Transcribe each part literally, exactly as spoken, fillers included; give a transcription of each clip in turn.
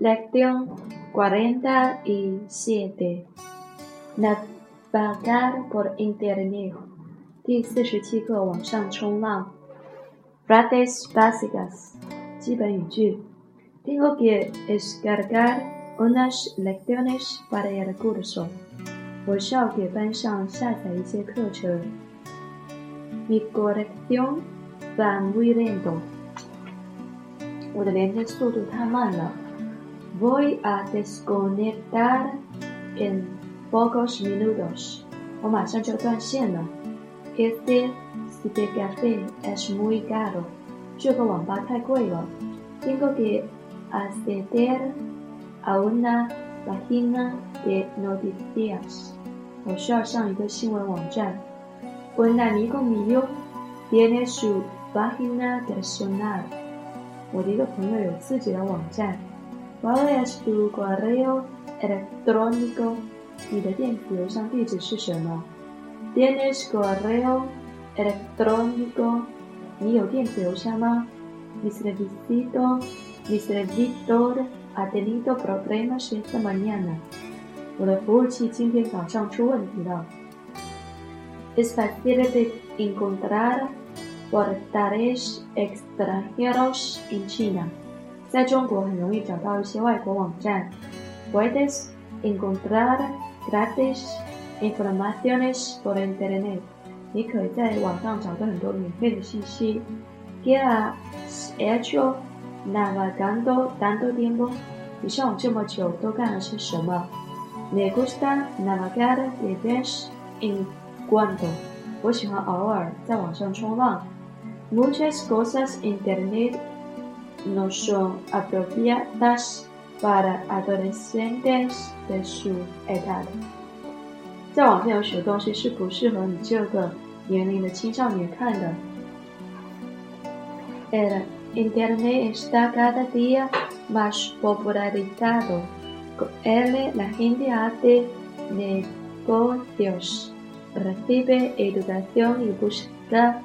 Lección cuarenta y siete. Navegar por internet. 第四十七课，网上冲浪。Frases básicas. 基本语句。Tengo que descargar unas lecciones para el curso. 我需要给班上下载一些课程。Mi conexión va muy lento. 我的连接速度太慢了。Voy a desconectar en pocos minutos. 我马上就断线了。Este cibercafé es muy caro. 这个网吧太贵了。Tengo que acceder a una página de noticias. 我需要上一个新闻网站。Un amigo mío tiene su página personal. 我的一个朋友有自己的网站。¿Cuál es tu correo electrónico? 你的电子邮箱地址是什么 ？¿Tienes correo electrónico? 你有电子邮箱吗 ？Mi servicio, mi servidor ha tenido problemas esta mañana. 我的服务器今天早上出问题了。Es fácil de encontrar portales extranjeros en China. 在中国很容易找到一些外国网站。Puedes encontrar gratis informaciones por internet. 你可以在网上找到很多免费的信息。¿Qué has hecho navegando tanto tiempo? 你上网这么久都干了些什么 ？Me gusta navegar de vez en cuando. 我喜欢偶尔在网上冲浪。Muchas cosas internet no son apropiadas para adolescentes de su edad. 在网上有许多东西是不适合你这个年龄的青少年看的。El internet está cada día más popularizado. Con él la gente hace negocios, recibe educación y busca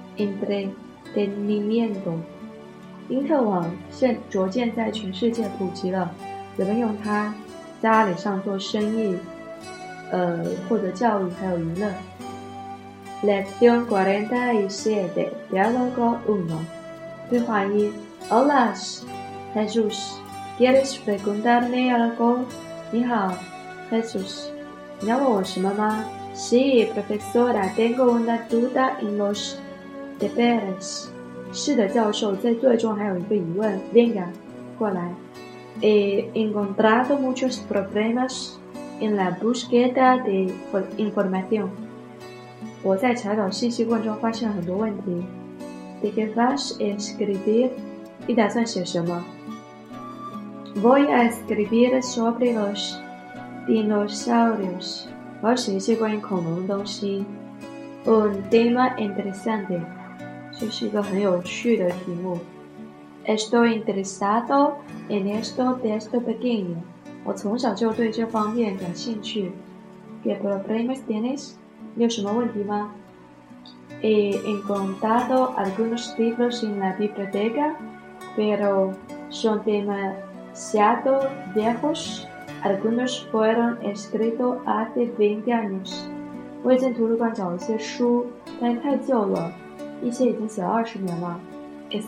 entretenimiento.因特网现逐渐在全世界普及了，人们用它在阿里上做生意，呃，获得教育还有娱乐。Lección cuarenta y siete, diálogo uno. 对话一 Hola, Jesús. ¿Quieres preguntarme algo? 你好 ，Jesus. 你要问我什么吗 Sí, profesora. Tengo una duda en los deberes.是的，教授，在作业中还有一个疑问 Venga, 过来 He encontrado muchos problemas en la búsqueda de información. 我在查找信息过程中发现了很多问题 ¿De qué vas a escribir? 你打算写什么 Voy a escribir sobre los dinosaurios. 我要写一些关于恐龙的东西 Un tema interesante.这是一个很有趣的题目。Estoy interesado en esto desde pequeño. 我从小就对这方面感兴趣。¿Qué problemas tienes? 你有什么问题吗 He encontrado algunos libros en la biblioteca, pero son demasiado viejos. Algunos fueron escritos hace veinte años. 我已经图书馆找了一些书，但是太旧了。一些已经写了二十年了。Es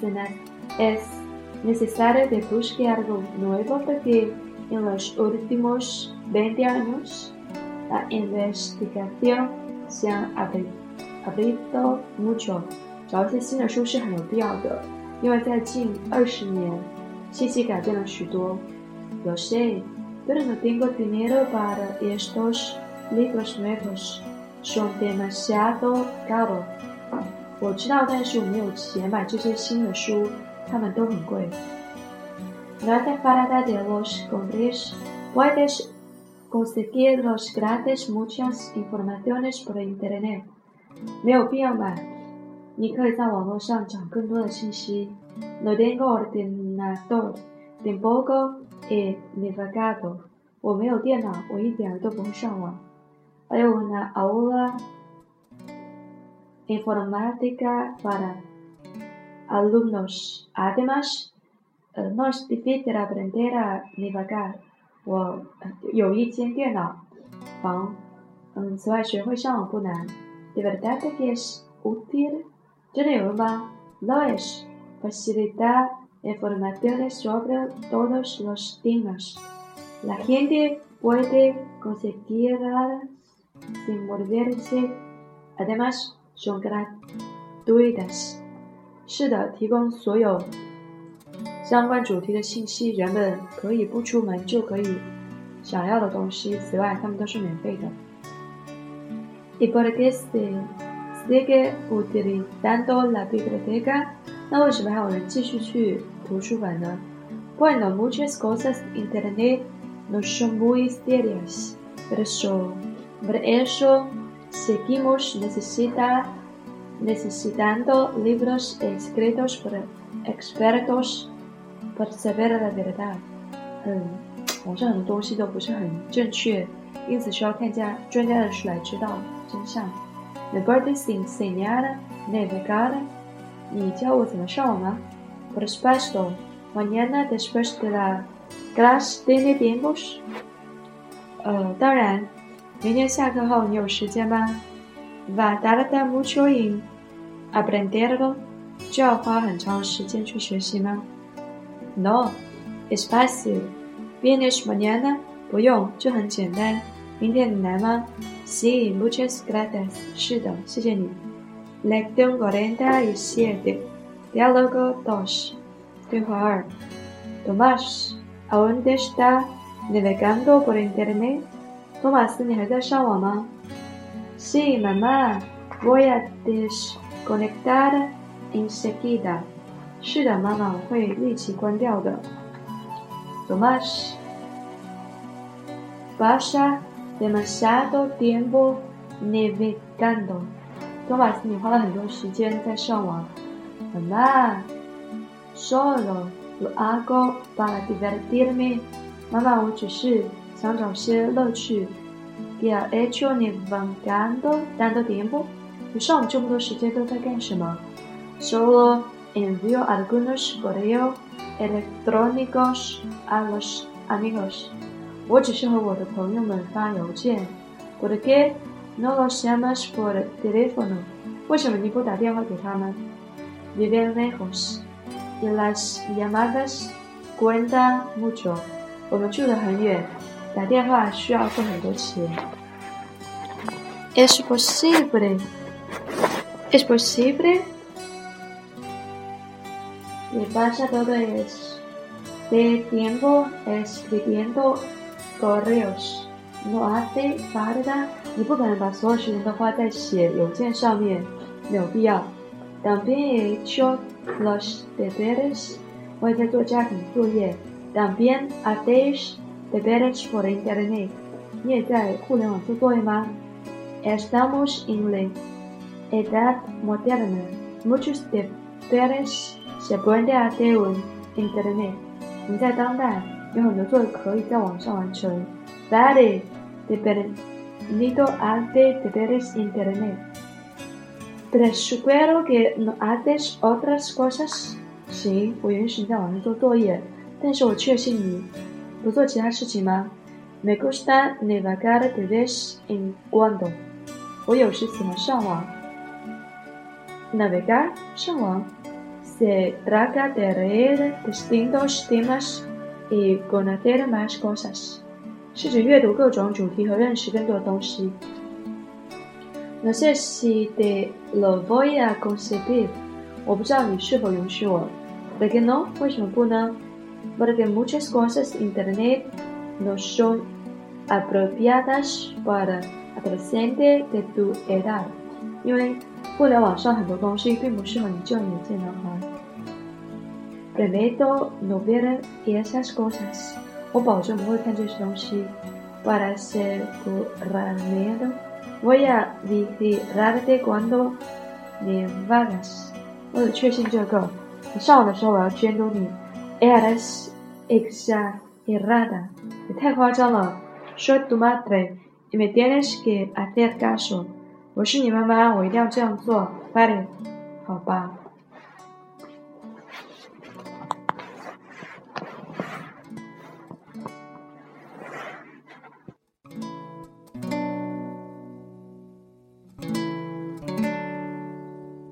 necesario de buscar algo nuevo porque en los últimos veinte años la investigación se ha abierto mucho. 找一些新的书是很有必要的，因为在近二十年，信息改变了许多。Lo sé, pero no tengo dinero para estos libros nuevos. Son demasiado caros.我知道，但是我没有钱买这些新的书，它们都很贵。No hace falta de los compres. Puedes conseguir los gratis muchas informaciones por internet. 没有必要买，你可以在网络上找更多的信息。No tengo ordenador. Tampoco he navegado. 我没有电脑，我一点都不会上网。Hay una aula.Informática para alumnos. Además, 呃 no es difícil aprender a navegar。我有一间电脑房，嗯，此外学会上网不难。De verdad que es útil？ 真的有用吗 ？Lo es. Facilita informaciones sobre todos los temas. La gente puede conseguirlas sin moverse. Además, son gratuitas. 是的，提供所有相关主题的信息，人们可以不出门就可以想要的东西。此外，它们都是免费的。¿Y por qué se sigue utilizando la biblioteca？ 那为什么还有人继续去图书馆呢 ？Bueno, muchas cosas internet no son muy serias, pero por eso seguimos necesita, necesitando libros escritos por expertos para saber la verdad。 嗯，网上很多东西都不是很正确，因此需要看家专家的书来知道真相。¿Me puedes enseñar a navegar？ 你教我怎么上网吗 ？Por supuesto, mañana después de la clase tiene tiempos？ 呃，当然，明天下课后你有时间吗 ？Va tardar mucho en aprenderlo？ 就要花很长时间去学习吗 ？No, es fácil. ¿Vienes mañana？ 不用，就很简单。明天你来吗 ？Sí, muchas gracias. 是的，谢谢你。Lección cuarenta y siete. Diálogo dos. 对话二。Tomás, ¿aún está navegando por internet？ 托马斯，你还在上网吗 ？Sí, mamá. Voy a desconectar enseguida. 是的，妈妈，我会立即关掉的。Tomás, pasa demasiado tiempo navegando。托马斯，你花了很多时间在上网。Mamá, solo lo hago para divertirme。妈妈，我只是想找些乐趣。¿Qué ha hecho navegando tanto tiempo？ 你上网这么多时间都在干什么 ？Solo envío algunos correos electrónicos a los amigos。我只是和我的朋友们发邮件。¿Por qué no los llamas por teléfono？ 为什么你不打电话给他们 ？Viven lejos y las llamadas cuentan mucho。我们住得很远，打电话需要付很多钱。Es posible. Es posible. Le pasa todo este tiempo escribiendo correos. No hace falta。 你不可能把所有时间都花在写邮件上面，没有必要。También he hecho los deberes。 我也在做家庭作业。También hacéis deberes por internet。 你也在互联网做作业吗 ？Estamos en la edad moderna. Muchos deberes se pueden hacer en internet。 你在当代，有很多作业可以在网上完成。Vale, deber。Nido hace deberes internet. Pero supongo que no haces otras cosas. 行，我允许你在网上做作业，但是我确信你不做其他事情吗 ？Me gusta navegar de vez en cuando. 我有时喜欢上网。Navegar 上网 se trata de leer distintos temas y conocer más cosas。是指阅读各种主题和认识更多的东西。No sé si te lo voy a conceder。 我不知道你是否允许我。¿Por qué no？ 为什么不呢 ？Porque muchas cosas internet no son apropiadas para adolescentes de tu edad。 因为互联网上很多东西并不适合你这样年纪的男孩。Prometo no ver esas cosas。 我保证不会看这些东西。Para asegurarme, voy a vigilarte cuando navegas。 为了确信这个，你上网的时候我要监督你。Eres exagerada。 你太夸张了。Soy tu madre y me tienes que hacer caso。 我是你妈妈，我一定要这样做。Vale， 好吧。